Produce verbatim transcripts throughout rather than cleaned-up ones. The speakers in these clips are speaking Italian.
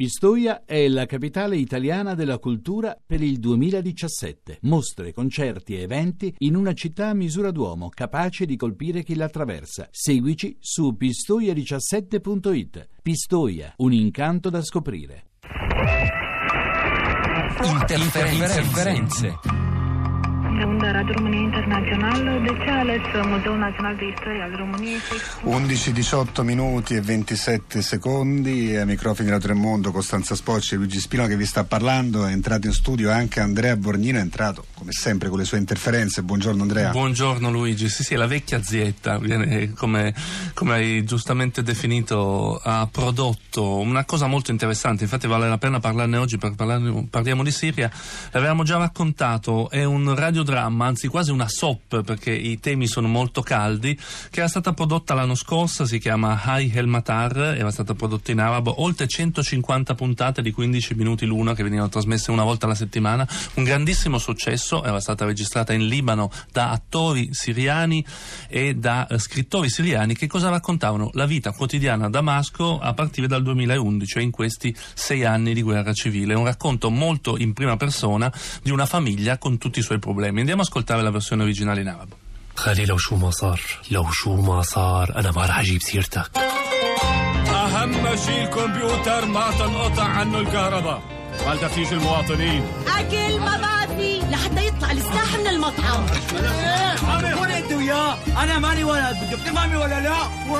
Pistoia è la capitale italiana della cultura per il duemiladiciassette. Mostre, concerti e eventi in una città a misura d'uomo, capace di colpire chi la attraversa. Seguici su pistoia diciassette punto it. Pistoia, un incanto da scoprire. Interferenze. Onda Radio România Internațională, de ce a ales Muzeul Național de Istoria al României? undici diciotto minuti e ventisette secondi, ai microfoni di Radio Tremondo Costanza Spocci e Luigi Spino che vi sta parlando. È entrato in studio anche Andrea Borgnino, è entrato come sempre con le sue interferenze. Buongiorno Andrea. Buongiorno Luigi, sì sì, la vecchia zietta, come, come hai giustamente definito, ha prodotto una cosa molto interessante, infatti vale la pena parlarne oggi perché parlarne, parliamo di Siria. L'avevamo già raccontato, è un radiodramma, anzi quasi una soap perché i temi sono molto caldi, che era stata prodotta l'anno scorso, si chiama Hay El Matar, era stata prodotta in arabo, oltre centocinquanta puntate di quindici minuti l'una che venivano trasmesse una volta alla settimana, un grandissimo successo. Era stata registrata in Libano da attori siriani e da eh, scrittori siriani che cosa raccontavano? La vita quotidiana a Damasco a partire dal duemilaundici, cioè in questi sei anni di guerra civile. Un racconto molto in prima persona di una famiglia con tutti i suoi problemi. Andiamo a ascoltare la versione originale in arabo. خلي لو شو ما صار لو شو ما صار أنا ما راح أجيب سيرتك. أهم شيء الكمبيوتر ما تنقطع عنه الكهرباء. ما تفتيش المواطنين. أكل ما بقى في لحتى يطلع السلاح من المطعم. وين أنت وياه؟ أنا ماني ولد، بدك تفهمي ولا لا؟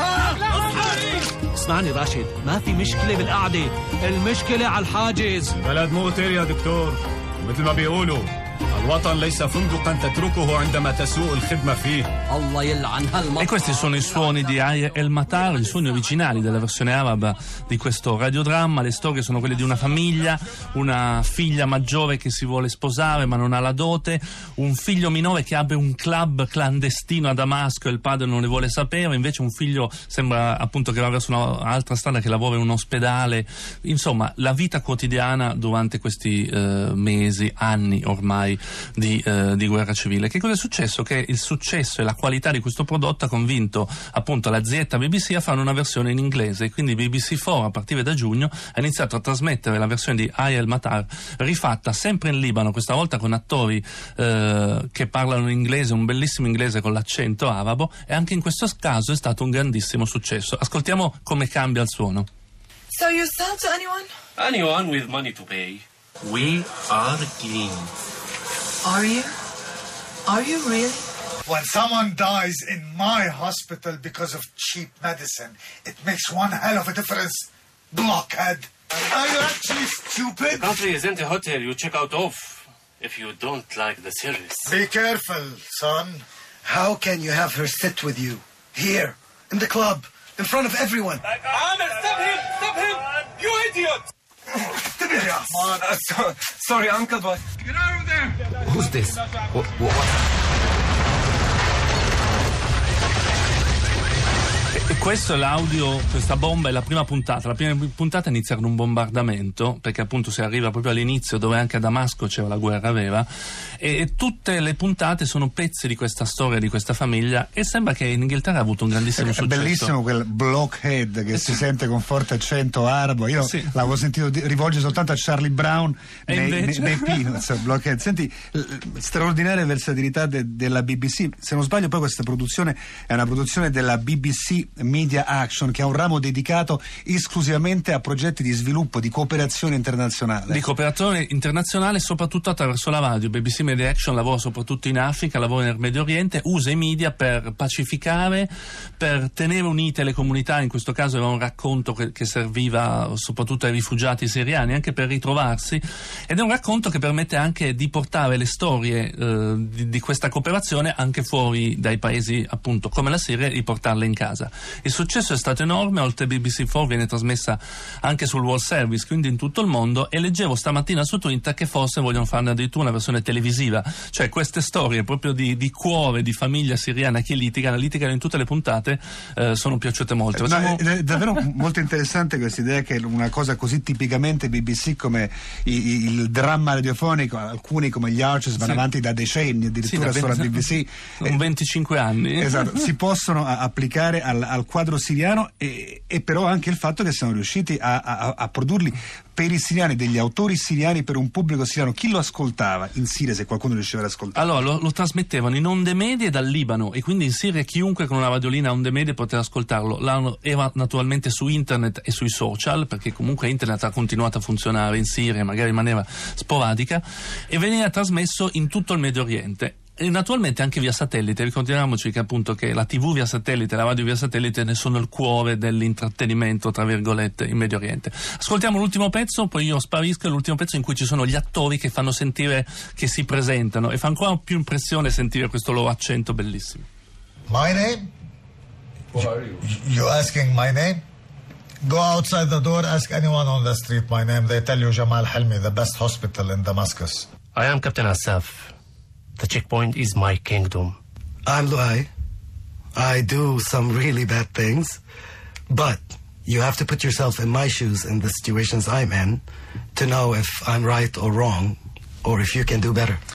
اسمعني راشد، ما في مشكلة بالقعدة، المشكلة على الحاجز. بلد مغتر يا دكتور، مثل ما بيقولوا الوطن ليس فندقا تتركه عندما تسوء الخدمة فيه. الله يلعن هالمطعم. E questi sono i suoni di Hay El Matar, i suoni originali della versione araba di questo radiodramma. Le storie sono quelle di una famiglia, una figlia maggiore che si vuole sposare ma non ha la dote, un figlio minore che apre un club clandestino a Damasco e il padre non ne vuole sapere, invece un figlio sembra appunto che va verso un'altra strada, che lavora in un ospedale. Insomma, la vita quotidiana durante questi eh, mesi, anni ormai Di, eh, di guerra civile. Che cosa è successo? Che il successo e la qualità di questo prodotto ha convinto appunto l'azienda B B C a fare una versione in inglese, quindi B B C quattro a partire da giugno ha iniziato a trasmettere la versione di Hay El Matar rifatta sempre in Libano, questa volta con attori eh, che parlano in inglese, un bellissimo inglese con l'accento arabo, e anche in questo caso è stato un grandissimo successo. Ascoltiamo come cambia il suono. So you sell to anyone? Anyone with money to pay. We are clean. Are you? Are you really? When someone dies in my hospital because of cheap medicine, it makes one hell of a difference. Blockhead. Are you actually stupid? The country isn't a hotel you check out of if you don't like the service. Be careful, son. How can you have her sit with you? Here, in the club, in front of everyone. Amir, stop him! Stop him! You idiot! Uh, so, sorry, uncle, but... Get out of there! Who's this? What, what? E questo è l'audio, questa bomba è la prima puntata. La prima puntata inizia con un bombardamento, perché appunto si arriva proprio all'inizio dove anche a Damasco c'era la guerra vera, e, e tutte le puntate sono pezzi di questa storia, di questa famiglia, e sembra che in Inghilterra ha avuto un grandissimo è successo. È bellissimo quel blockhead che eh sì. si sente con forte accento arabo. Io sì. l'avevo sentito di, rivolgere soltanto a Charlie Brown e nei, invece... nei, nei Peanuts, blockhead. Senti, straordinaria versatilità de, della B B C. Se non sbaglio poi questa produzione è una produzione della B B C Media Action, che ha un ramo dedicato esclusivamente a progetti di sviluppo, di cooperazione internazionale. Di cooperazione internazionale soprattutto attraverso la radio. B B C Media Action lavora soprattutto in Africa, lavora nel Medio Oriente, usa i media per pacificare, per tenere unite le comunità. In questo caso era un racconto che, che serviva soprattutto ai rifugiati siriani, anche per ritrovarsi, ed è un racconto che permette anche di portare le storie eh, di, di questa cooperazione anche fuori dai paesi appunto come la Siria, e riportarle in casa. Il successo è stato enorme, oltre a B B C quattro viene trasmessa anche sul World Service, quindi in tutto il mondo, e leggevo stamattina su Twitter che forse vogliono farne addirittura una versione televisiva, cioè queste storie proprio di, di cuore, di famiglia siriana che litigano, litigano in tutte le puntate, eh, sono piaciute molto. No, è, è davvero molto interessante questa idea che una cosa così tipicamente B B C come il, il dramma radiofonico, alcuni come gli Archers vanno sì. avanti da decenni, addirittura sì, sulla B B C, un venticinque anni, esatto, si possono a, applicare alla al, al quadro siriano e, e però anche il fatto che siamo riusciti a, a, a produrli per i siriani, degli autori siriani per un pubblico siriano. Chi lo ascoltava in Siria, se qualcuno riusciva ad ascoltare? Allora lo, lo trasmettevano in onde medie dal Libano, e quindi in Siria chiunque con una radiolina a onde medie poteva ascoltarlo. L'hanno, era naturalmente su internet e sui social, perché comunque internet ha continuato a funzionare in Siria, magari in maniera sporadica, e veniva trasmesso in tutto il Medio Oriente. E naturalmente anche via satellite. Ricordiamoci che appunto che la tivù via satellite e la radio via satellite ne sono il cuore dell'intrattenimento, tra virgolette, in Medio Oriente. Ascoltiamo l'ultimo pezzo, poi io sparisco, è l'ultimo pezzo in cui ci sono gli attori che fanno sentire che si presentano, e fa ancora più impressione sentire questo loro accento bellissimo. My name? What are you? You asking my name? Go outside the door, ask anyone on the street my name. They tell you Jamal Halmi, the best hospital in Damascus. I am Captain Asaf. The checkpoint is my kingdom. I'm Luai. I do some really bad things, but you have to put yourself in my shoes in the situations I'm in to know if I'm right or wrong, or if you can do better.